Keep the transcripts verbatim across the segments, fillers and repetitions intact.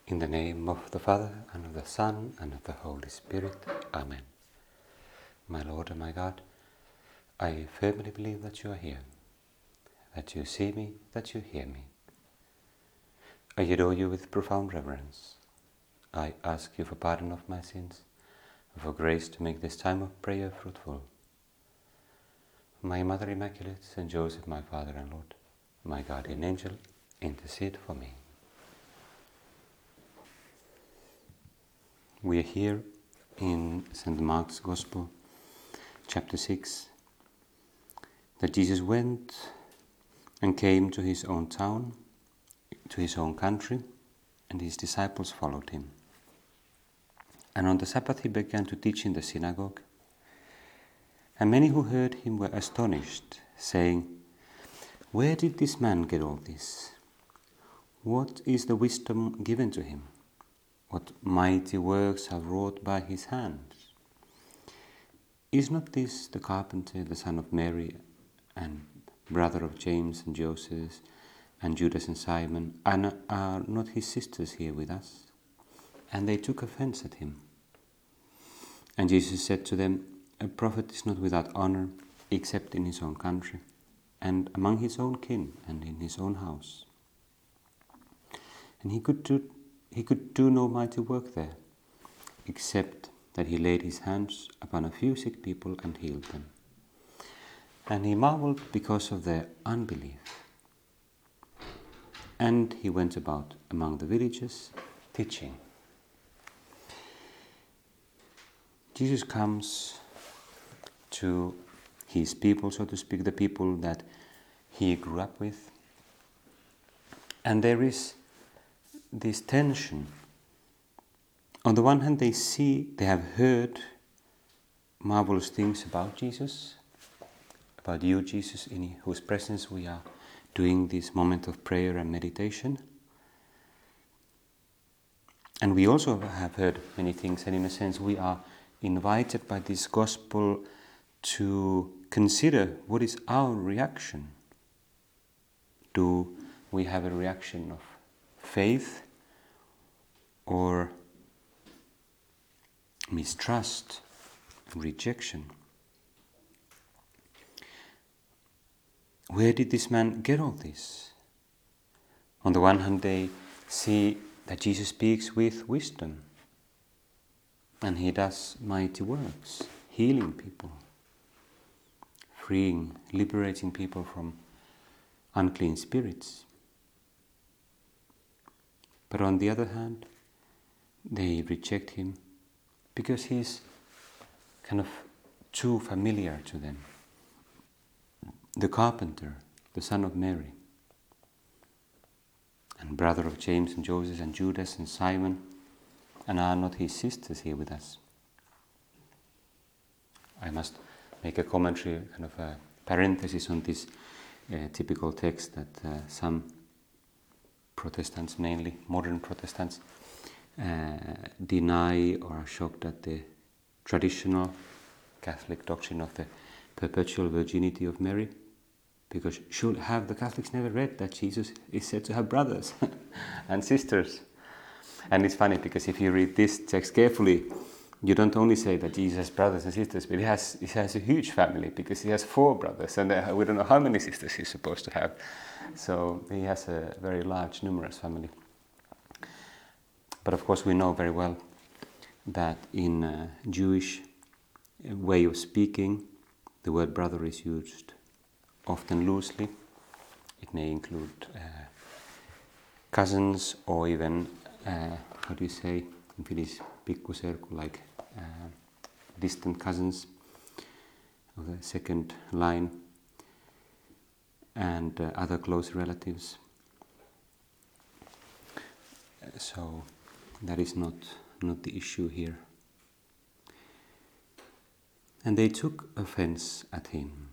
In the name of the Father, and of the Son, and of the Holy Spirit. Amen. My Lord and my God, I firmly believe that you are here, that you see me, that you hear me. I adore you with profound reverence. I ask you for pardon of my sins, and for grace to make this time of prayer fruitful. My Mother Immaculate, Saint Joseph, my Father and Lord, my guardian angel, intercede for me. We are here in Saint Mark's Gospel, chapter six, that Jesus went and came to his own town, to his own country, and his disciples followed him. And on the Sabbath he began to teach in the synagogue, and many who heard him were astonished, saying, "Where did this man get all this? What is the wisdom given to him? What mighty works are wrought by his hands? Is not this the carpenter, the son of Mary, and brother of James and Joseph, and Judas and Simon? And are not his sisters here with us?" And they took offense at him. And Jesus said to them, "A prophet is not without honor, except in his own country, and among his own kin, and in his own house." And he could do He could do no mighty work there, except that he laid his hands upon a few sick people and healed them. And he marveled because of their unbelief. And he went about among the villages, teaching. Jesus comes to his people, so to speak, the people that he grew up with. And there is this tension. On the one hand, they see, they have heard marvelous things about Jesus, about you, Jesus, in whose presence we are doing this moment of prayer and meditation. And we also have heard many things, and in a sense we are invited by this gospel to consider what is our reaction. Do we have a reaction of faith or mistrust, rejection? Where did this man get all this? On the one hand, they see that Jesus speaks with wisdom, and he does mighty works, healing people, freeing, liberating people from unclean spirits. But on the other hand, they reject him because he's kind of too familiar to them. The carpenter, the son of Mary, and brother of James and Joseph and Judas and Simon, and are not his sisters here with us? I must make a commentary, kind of a parenthesis on this uh, typical text that uh, some Protestants, mainly modern Protestants, uh, deny or are shocked at the traditional Catholic doctrine of the perpetual virginity of Mary, because should have the Catholics never read that Jesus is said to have brothers and sisters? And it's funny because if you read this text carefully, you don't only say that Jesus has brothers and sisters, but he has he has a huge family because he has four brothers, and uh, we don't know how many sisters he's supposed to have. So he has a very large, numerous family. But of course we know very well that in uh, Jewish way of speaking, the word brother is used often loosely. It may include uh, cousins, or even, uh, how do you say, in Finnish, pikkuserkku, like uh, distant cousins of the second line, and uh, other close relatives. So that is not, not the issue here. And they took offense at him.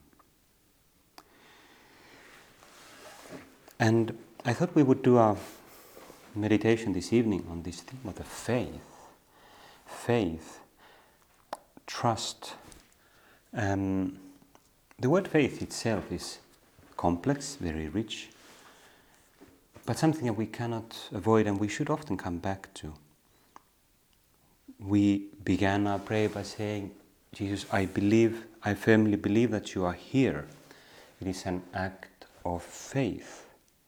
And I thought we would do our meditation this evening on this theme of the faith. Faith, trust. Um, the word faith itself is complex, very rich. but something that we cannot avoid and we should often come back to. We began our prayer by saying, Jesus, I believe, I firmly believe that you are here. It is an act of faith.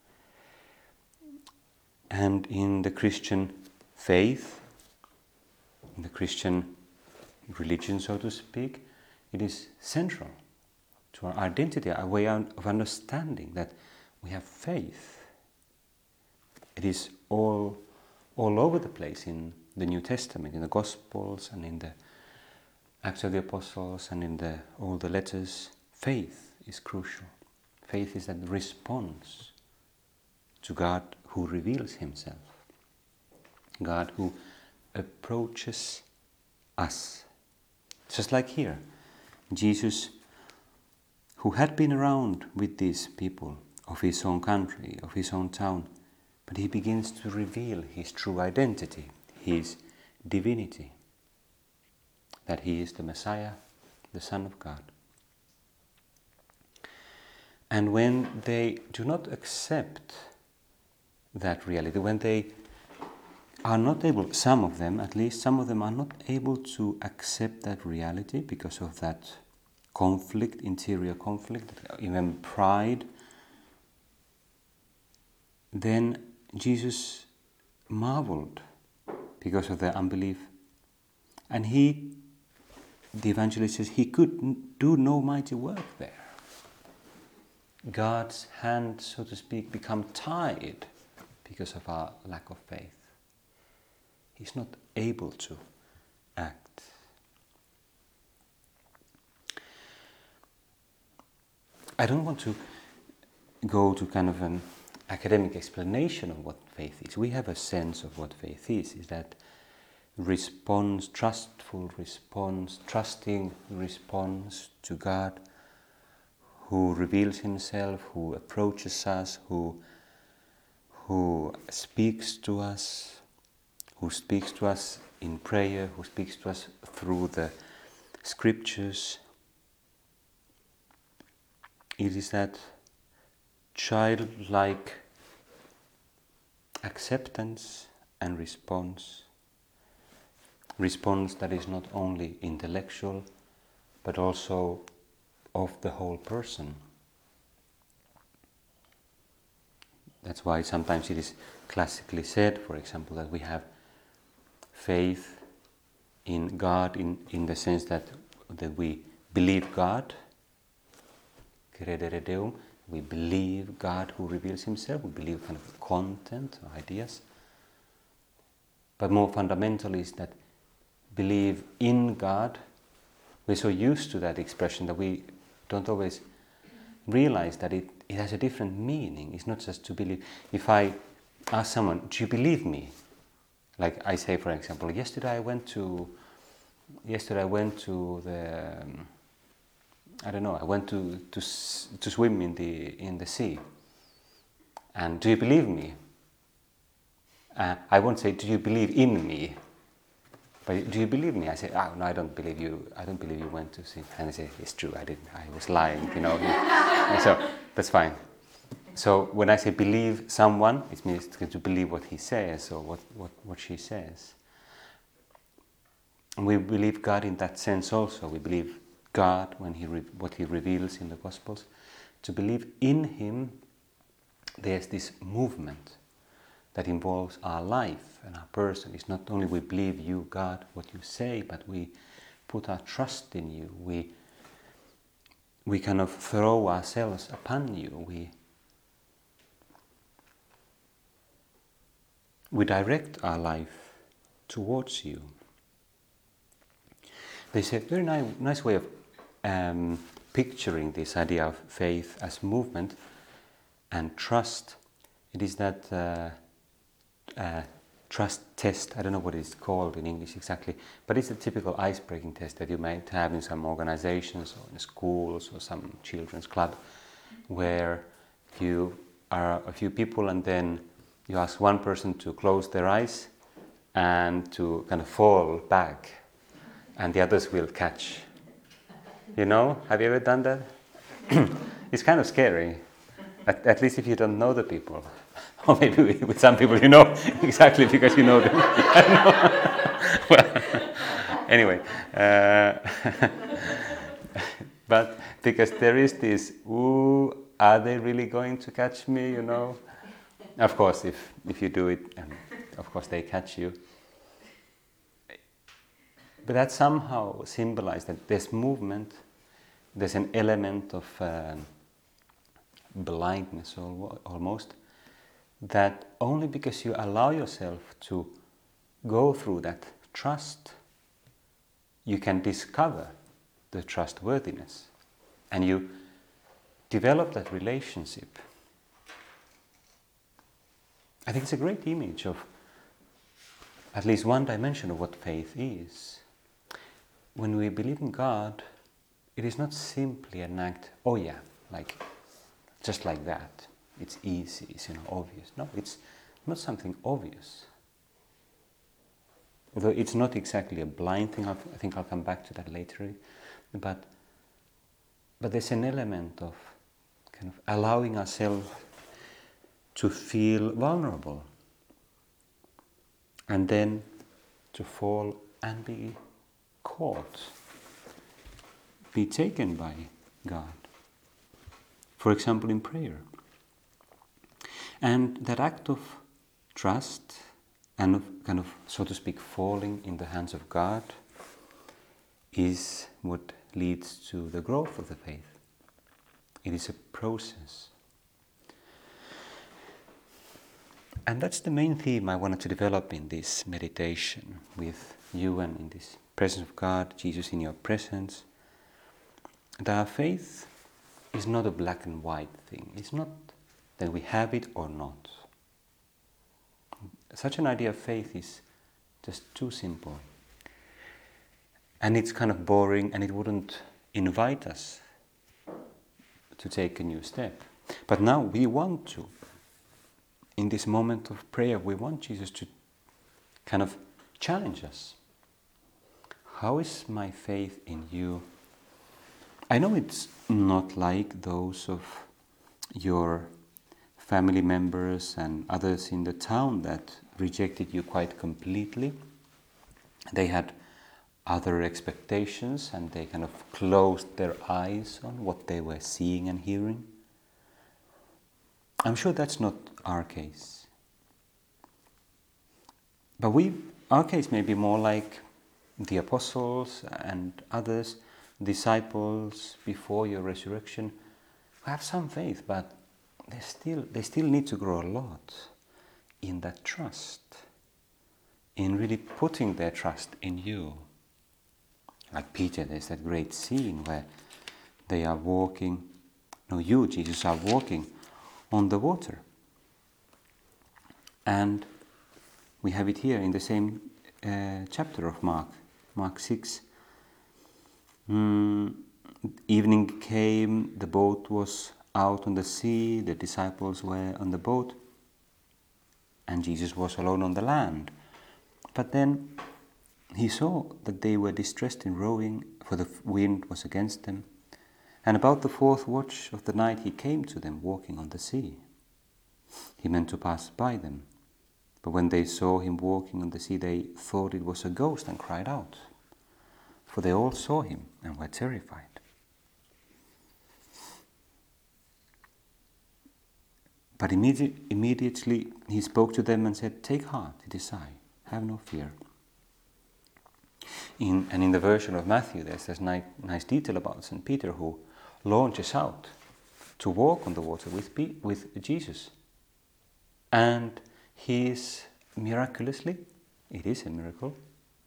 And in the Christian faith, in the Christian religion, so to speak, it is central to our identity, our way of understanding that we have faith. It is all, all over the place in the New Testament, in the Gospels and in the Acts of the Apostles and in the, all the letters. Faith is crucial. Faith is that response to God who reveals himself. God who approaches us. Just like here, Jesus, who had been around with these people of his own country, of his own town, but he begins to reveal his true identity, his divinity, that he is the Messiah, the Son of God. And when they do not accept that reality, when they are not able, some of them at least, some of them are not able to accept that reality because of that conflict, interior conflict, even pride, then Jesus marveled because of their unbelief. And he, the evangelist says, he could do no mighty work there. God's hand, so to speak, become tied because of our lack of faith. He's not able to act. I don't want to go to kind of an academic explanation of what faith is. We have a sense of what faith is, is that response, trustful response, trusting response to God, who reveals himself, who approaches us, who, who speaks to us, who speaks to us in prayer, who speaks to us through the scriptures. It is that childlike acceptance and response. Response that is not only intellectual, but also of the whole person. That's why sometimes it is classically said, for example, that we have faith in God in, in the sense that, that we believe God, credere Deum, we believe God who reveals himself, we believe kind of content or ideas. But more fundamental is that believe in God. We're so used to that expression that we don't always realize that it, it has a different meaning. It's not just to believe. If I ask someone, do you believe me? Like I say, for example, yesterday I went to, yesterday I went to the, um, I don't know, I went to, to to swim in the in the sea. And do you believe me? Uh, I won't say, do you believe in me? But do you believe me? I say, oh no, I don't believe you. I don't believe you went to sea. And I say, it's true, I didn't. I was lying, you know. And so that's fine. So when I say believe someone, it means to believe what he says or what, what, what she says. And we believe God in that sense also. We believe God when he re- what he reveals in the Gospels. To believe in him, there's this movement that involves our life and our person. It's not only we believe you, God, what you say, but we put our trust in you. We we kind of throw ourselves upon you. We we direct our life towards you. There's a very nice, nice way of um, picturing this idea of faith as movement and trust. It is that uh, uh, trust test. I don't know what it's called in English exactly, but it's a typical ice-breaking test that you might have in some organizations or in schools or some children's club, where you are a few people and then you ask one person to close their eyes and to kind of fall back, and the others will catch. You know, have you ever done that? It's kind of scary, at, at least if you don't know the people Or maybe with some people you know exactly because you know them. Well, anyway, uh, but because there is this, ooh, are they really going to catch me, you know? Of course, if, if you do it, um, of course they catch you. But that somehow symbolizes that there's movement, there's an element of uh, blindness al- almost, that only because you allow yourself to go through that trust, you can discover the trustworthiness. And you develop that relationship. I think it's a great image of at least one dimension of what faith is. When we believe in God, it is not simply an act, oh yeah, like just like that. It's easy, it's, you know, obvious. No, it's not something obvious. Although it's not exactly a blind thing, I'll, I think I'll come back to that later. But, but there's an element of kind of allowing ourselves to feel vulnerable and then to fall and be caught, be taken by God. For example, in prayer. And that act of trust and of kind of, so to speak, falling in the hands of God is what leads to the growth of the faith. It is a process. And that's the main theme I wanted to develop in this meditation with you and in this presence of God, Jesus in your presence. That our faith is not a black and white thing. It's not that we have it or not. Such an idea of faith is just too simple. And it's kind of boring, and it wouldn't invite us to take a new step. But now we want to. In this moment of prayer, we want Jesus to kind of challenge us. How is my faith in you? I know it's not like those of your family members and others in the town that rejected you quite completely. They had other expectations and they kind of closed their eyes on what they were seeing and hearing. I'm sure that's not our case. But we, our case may be more like the apostles and others, disciples before your resurrection, who have some faith, but they still, they still need to grow a lot in that trust, in really putting their trust in you. Like Peter, there's that great scene where they are walking, no, you, Jesus, are walking on the water. And we have it here in the same uh, chapter of Mark, Mark six. Mm, evening came, the boat was out on the sea, the disciples were on the boat, and Jesus was alone on the land. But then he saw that they were distressed in rowing, for the wind was against them. And about the fourth watch of the night he came to them walking on the sea. He meant to pass by them, but when they saw him walking on the sea, they thought it was a ghost and cried out, for they all saw him and were terrified. But immedi- immediately he spoke to them and said, "Take heart, it is I, have no fear." In, and in the version of Matthew, there's this nice, nice detail about Saint Peter, who launches out to walk on the water with, P- with Jesus. And he is miraculously, it is a miracle,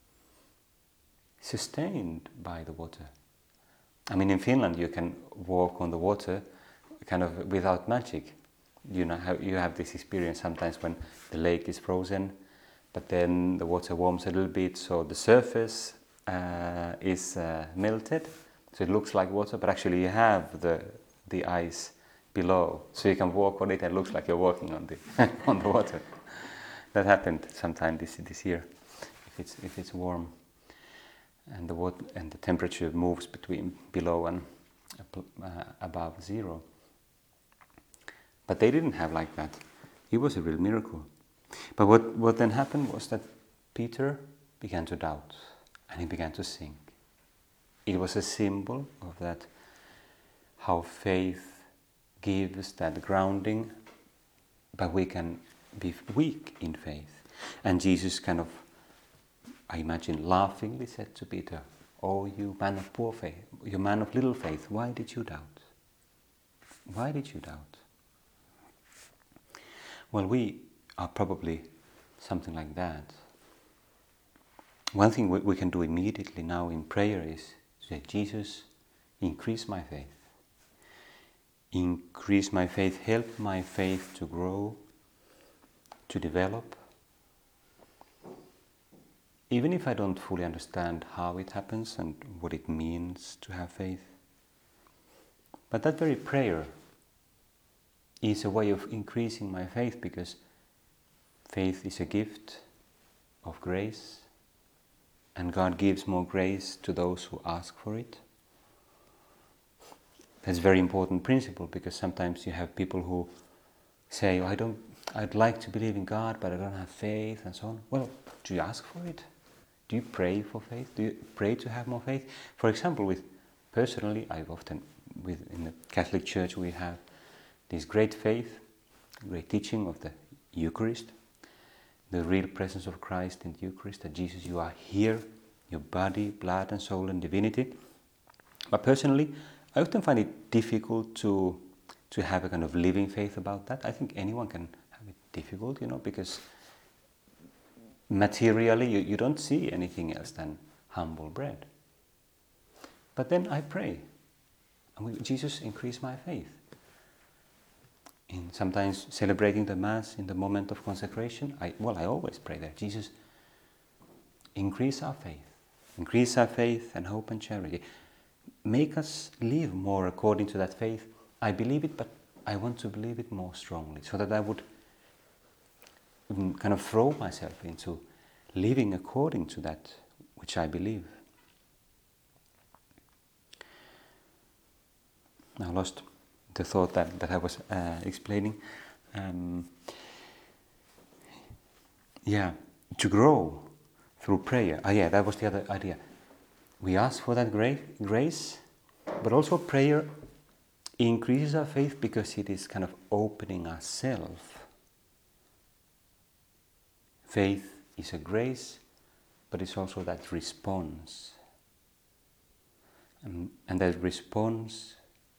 sustained by the water. I mean, in Finland you can walk on the water kind of without magic. You know, how you have this experience sometimes when the lake is frozen, but then the water warms a little bit, so the surface uh, is uh, melted, so it looks like water, but actually you have the the ice below, so you can walk on it and it looks like you're walking on the on the water. That happened sometime this this year, if it's if it's warm, and the water and the temperature moves between below and uh, above zero. But they didn't have like that. It was a real miracle. But what, what then happened was that Peter began to doubt and he began to sink. It was a symbol of that, how faith gives that grounding, but we can be weak in faith. And Jesus kind of, I imagine, laughingly said to Peter, "Oh, you man of poor faith, you man of little faith, why did you doubt? Why did you doubt?" Well, we are probably something like that. One thing we, we can do immediately now in prayer is say, "Jesus, increase my faith. Increase my faith, help my faith to grow, to develop. Even if I don't fully understand how it happens and what it means to have faith." But that very prayer is a way of increasing my faith, because faith is a gift of grace, and God gives more grace to those who ask for it. That's a very important principle, because sometimes you have people who say, oh, I don't, I'd like to believe in God, but I don't have faith, and so on. Well, do you ask for it? Do you pray for faith? Do you pray to have more faith? For example, with personally, I've often, with in the Catholic Church, we have this great faith, great teaching of the Eucharist, the real presence of Christ in the Eucharist, that Jesus, you are here, your body, blood and soul and divinity. But personally, I often find it difficult to to have a kind of living faith about that. I think anyone can have it difficult, you know, because materially you, you don't see anything else than humble bread. But then I pray, and we, Jesus, increase my faith. In sometimes celebrating the Mass in the moment of consecration, I well, I always pray there, Jesus, increase our faith, increase our faith and hope and charity. Make us live more according to that faith. I believe it, but I want to believe it more strongly, so that I would kind of throw myself into living according to that which I believe. I lost the thought that, that I was uh, explaining. Um, yeah, to grow through prayer. Oh yeah, that was the other idea. We ask for that gra- grace, but also prayer increases our faith because it is kind of opening ourselves. Faith is a grace, but it's also that response. And, and that response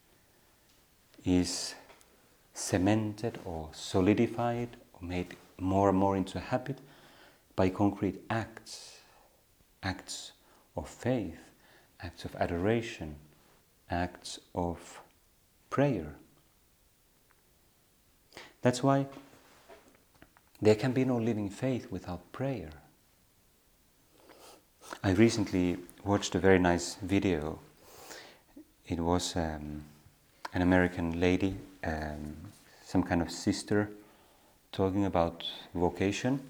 is cemented or solidified or made more and more into a habit by concrete acts, acts of faith, acts of adoration, acts of prayer. That's why there can be no living faith without prayer. I recently watched a very nice video. It was um, an American lady, um, some kind of sister, talking about vocation.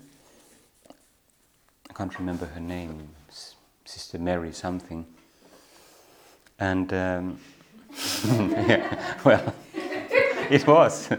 I can't remember her name, Sister Mary something. And um, yeah, well, it was.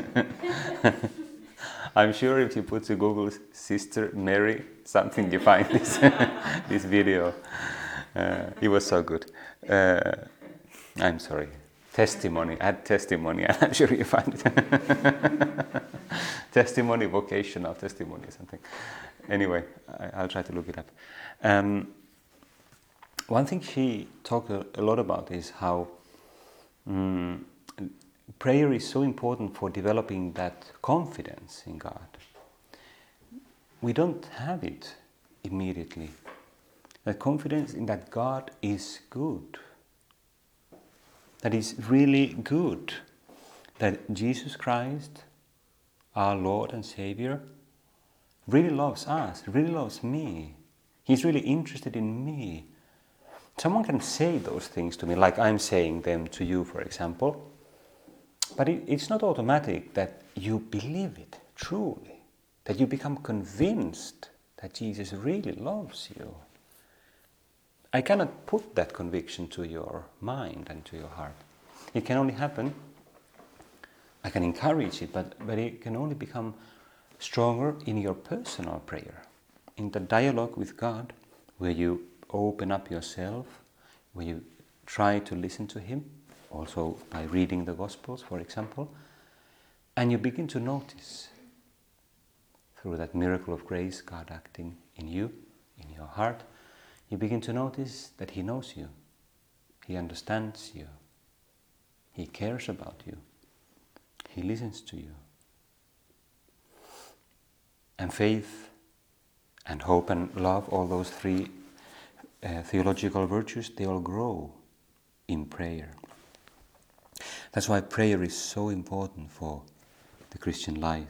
I'm sure if you put to Google Sister Mary something, you find this this video. Uh, it was so good. Uh, I'm sorry. Testimony. Add testimony. I'm sure you find it. Testimony, vocational testimony, something. Anyway, I, I'll try to look it up. Um, one thing she talked a, a lot about is how um, prayer is so important for developing that confidence in God. We don't have it immediately. That confidence in that God is good. That is really good. That Jesus Christ, our Lord and Savior, really loves us, really loves me. He's really interested in me. Someone can say those things to me, like I'm saying them to you, for example. But it, it's not automatic that you believe it truly, that you become convinced that Jesus really loves you. I cannot put that conviction to your mind and to your heart. It can only happen I can encourage it, but, but it can only become stronger in your personal prayer, in the dialogue with God, where you open up yourself, where you try to listen to Him, also by reading the Gospels, for example, and you begin to notice, through that miracle of grace, God acting in you, in your heart, you begin to notice that He knows you, He understands you, He cares about you, He listens to you. And faith and hope and love, all those three uh, theological virtues, they all grow in prayer. That's why prayer is so important for the Christian life.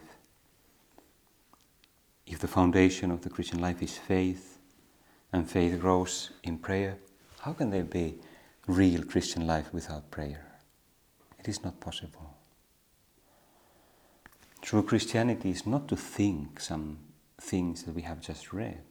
If the foundation of the Christian life is faith, and faith grows in prayer, how can there be real Christian life without prayer? It is not possible. True Christianity is not to think some things that we have just read.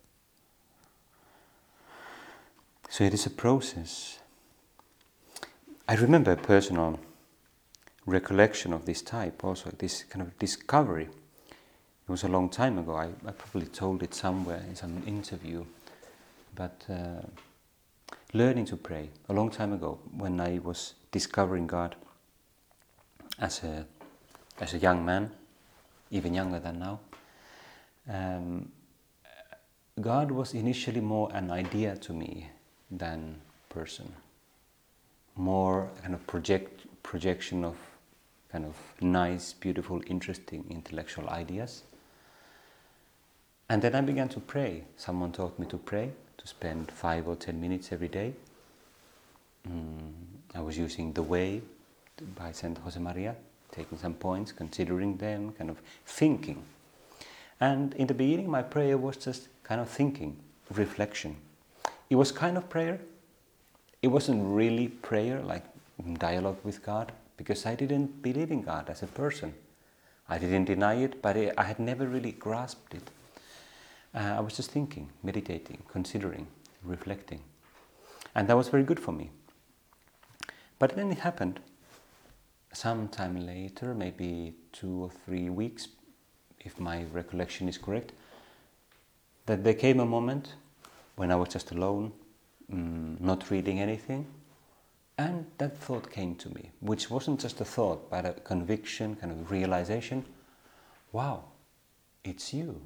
So it is a process. I remember a personal recollection of this type also, this kind of discovery. It was a long time ago. I, I probably told it somewhere in some interview. But uh, learning to pray, a long time ago, when I was discovering God as a as a young man, even younger than now, um, God was initially more an idea to me than person. More kind of project projection of kind of nice, beautiful, interesting intellectual ideas. And then I began to pray. Someone taught me to pray, to spend five or ten minutes every day. Mm, I was using The Way by Saint Josemaria, taking some points, considering them, kind of thinking. And in the beginning, my prayer was just kind of thinking, reflection. It was kind of prayer. It wasn't really prayer, like dialogue with God, because I didn't believe in God as a person. I didn't deny it, but I had never really grasped it. Uh, I was just thinking, meditating, considering, reflecting. And that was very good for me. But then it happened sometime later, maybe two or three weeks, if my recollection is correct, that there came a moment when I was just alone, um, not reading anything, and that thought came to me, which wasn't just a thought, but a conviction, kind of realization. Wow, it's you.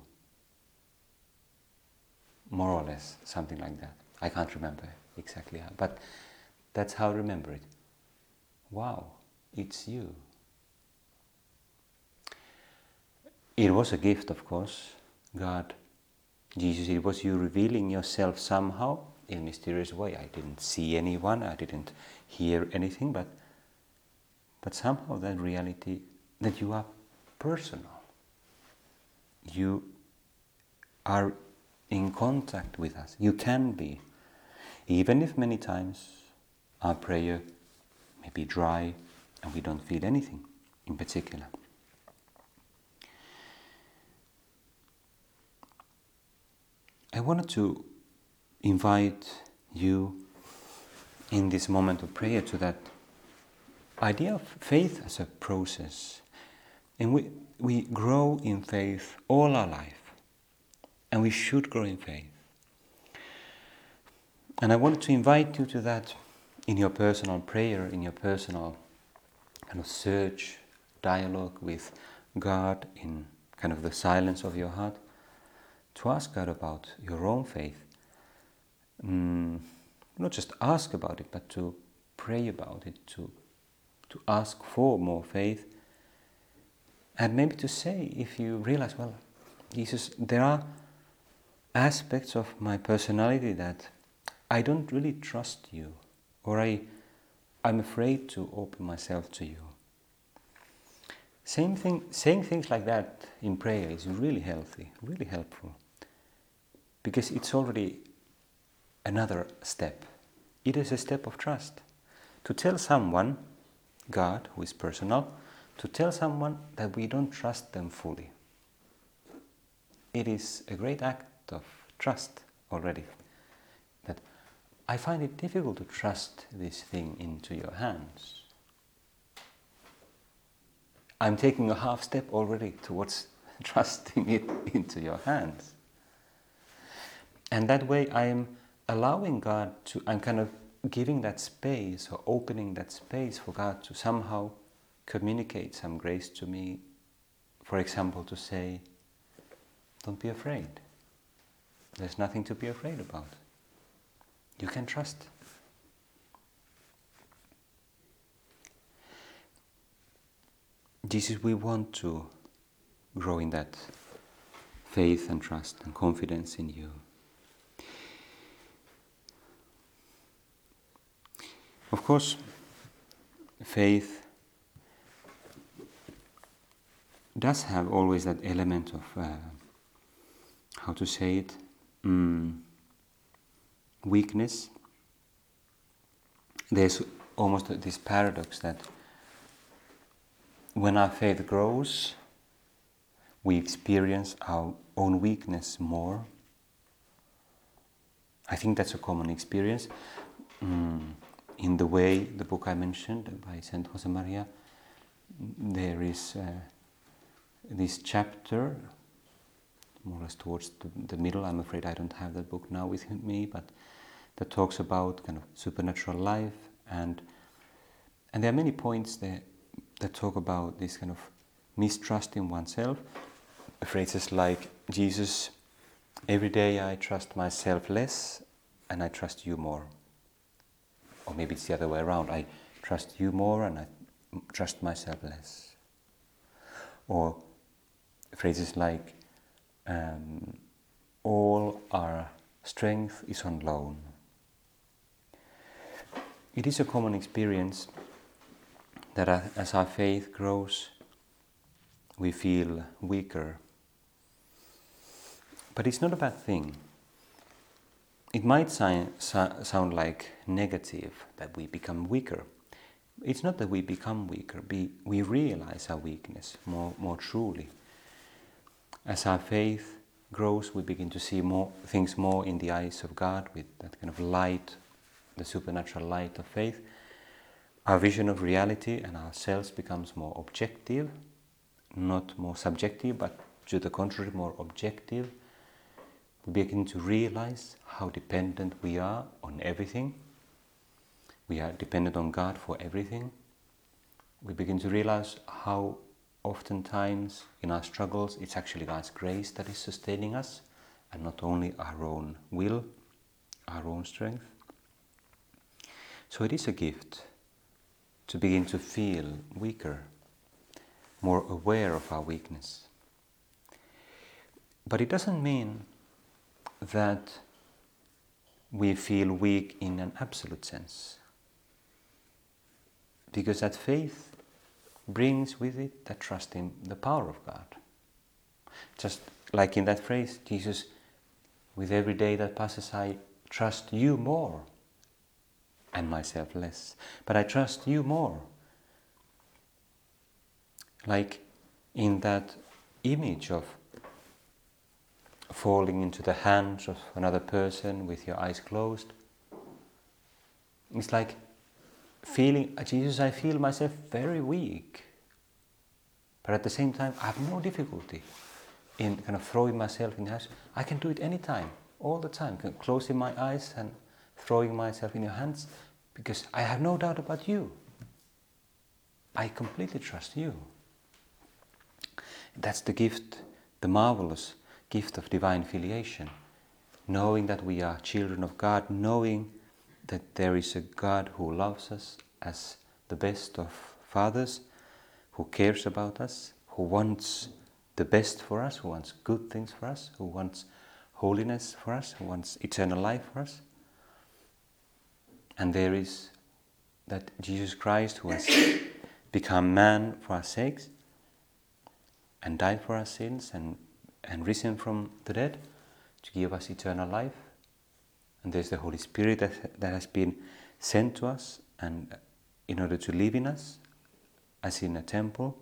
More or less, something like that. I can't remember exactly how, but that's how I remember it. Wow, it's you. It was a gift, of course. God, Jesus, it was you revealing yourself somehow in a mysterious way. I didn't see anyone, I didn't hear anything, but but somehow that reality that you are personal. You are in contact with us. You can be. Even if many times our prayer may be dry and we don't feel anything in particular. I wanted to invite you in this moment of prayer to that idea of faith as a process. And we, we grow in faith all our life. And we should grow in faith. And I wanted to invite you to that in your personal prayer, in your personal kind of search, dialogue with God, in kind of the silence of your heart, to ask God about your own faith. Mm, not just ask about it, but to pray about it, to, to ask for more faith. And maybe to say, if you realize, well, Jesus, there are aspects of my personality that I don't really trust you, or I, I'm afraid to open myself to you. Same thing, saying things like that in prayer is really healthy, really helpful, because it's already another step. It is a step of trust. To tell someone, God, who is personal, to tell someone that we don't trust them fully. It is a great act of trust already. That I find it difficult to trust this thing into your hands. I'm taking a half step already towards trusting it into your hands. And that way I'm allowing God to, I'm kind of giving that space or opening that space for God to somehow communicate some grace to me. For example, to say, don't be afraid. There's nothing to be afraid about. You can trust. Jesus, we want to grow in that faith and trust and confidence in you. Of course, faith does have always that element of, uh, how to say it, mm, weakness. There's almost this paradox that when our faith grows, we experience our own weakness more. I think that's a common experience. Mm, in the way, the book I mentioned by Saint Josemaria, there is uh, this chapter, more or less towards the, the middle. I'm afraid I don't have that book now with me, but that talks about kind of supernatural life, and and there are many points there that talk about this kind of mistrust in oneself. Phrases like, Jesus, every day I trust myself less and I trust you more. Or maybe it's the other way around, I trust you more and I trust myself less. Or phrases like, um, all our strength is on loan. It is a common experience that as our faith grows, we feel weaker. But it's not a bad thing. It might si- so- sound like negative, that we become weaker. It's not that we become weaker, we, we realize our weakness more, more truly. As our faith grows, we begin to see more things more in the eyes of God, with that kind of light, the supernatural light of faith. Our vision of reality and ourselves becomes more objective, not more subjective, but to the contrary, more objective. We begin to realize how dependent we are on everything. We are dependent on God for everything. We begin to realize how oftentimes in our struggles it's actually God's grace that is sustaining us, and not only our own will, our own strength. So it is a gift to begin to feel weaker, more aware of our weakness. But it doesn't mean that we feel weak in an absolute sense, because that faith brings with it that trust in the power of God. Just like in that phrase, Jesus, with every day that passes I trust you more and myself less, but I trust you more. Like in that image of falling into the hands of another person with your eyes closed. It's like feeling, Jesus, I feel myself very weak. But at the same time, I have no difficulty in kind of throwing myself in the hands. I can do it anytime, all the time, closing my eyes and throwing myself in your hands, because I have no doubt about you. I completely trust you. That's the gift, the marvelous gift of divine filiation, knowing that we are children of God, knowing that there is a God who loves us as the best of fathers, who cares about us, who wants the best for us, who wants good things for us, who wants holiness for us, who wants eternal life for us. And there is that Jesus Christ, who has become man for our sakes and died for our sins and and risen from the dead to give us eternal life. And there's the Holy Spirit that, that has been sent to us and in order to live in us as in a temple.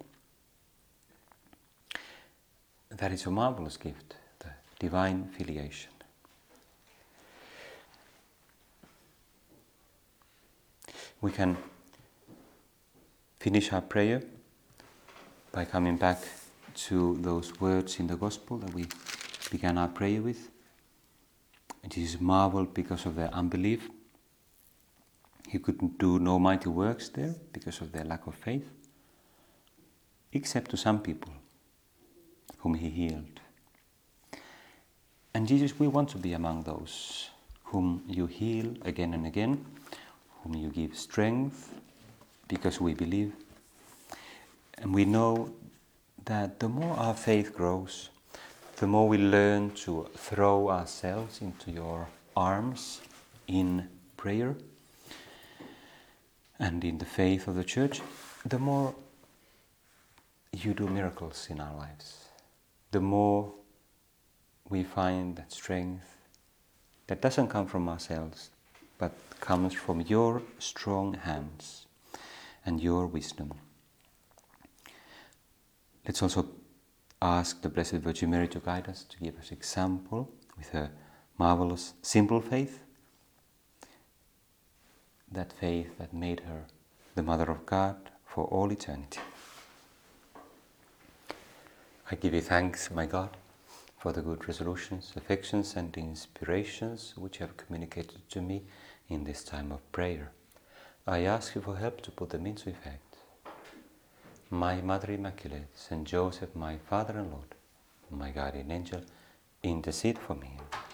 That is a marvelous gift, the divine filiation. We can finish our prayer by coming back to those words in the Gospel that we began our prayer with. Jesus marveled because of their unbelief. He could do no mighty works there because of their lack of faith, except to some people whom he healed. And Jesus, we want to be among those whom you heal again and again, whom you give strength because we believe. And we know that the more our faith grows, the more we learn to throw ourselves into your arms in prayer and in the faith of the Church, the more you do miracles in our lives. The more we find that strength that doesn't come from ourselves, but comes from your strong hands and your wisdom. Let's also ask the Blessed Virgin Mary to guide us, to give us example with her marvelous, simple faith, that faith that made her the Mother of God for all eternity. I give you thanks, my God, for the good resolutions, affections and inspirations which you have communicated to me in this time of prayer. I ask you for help to put them into effect. My Mother Immaculate, Saint Joseph, my Father and Lord, my guardian angel, intercede for me.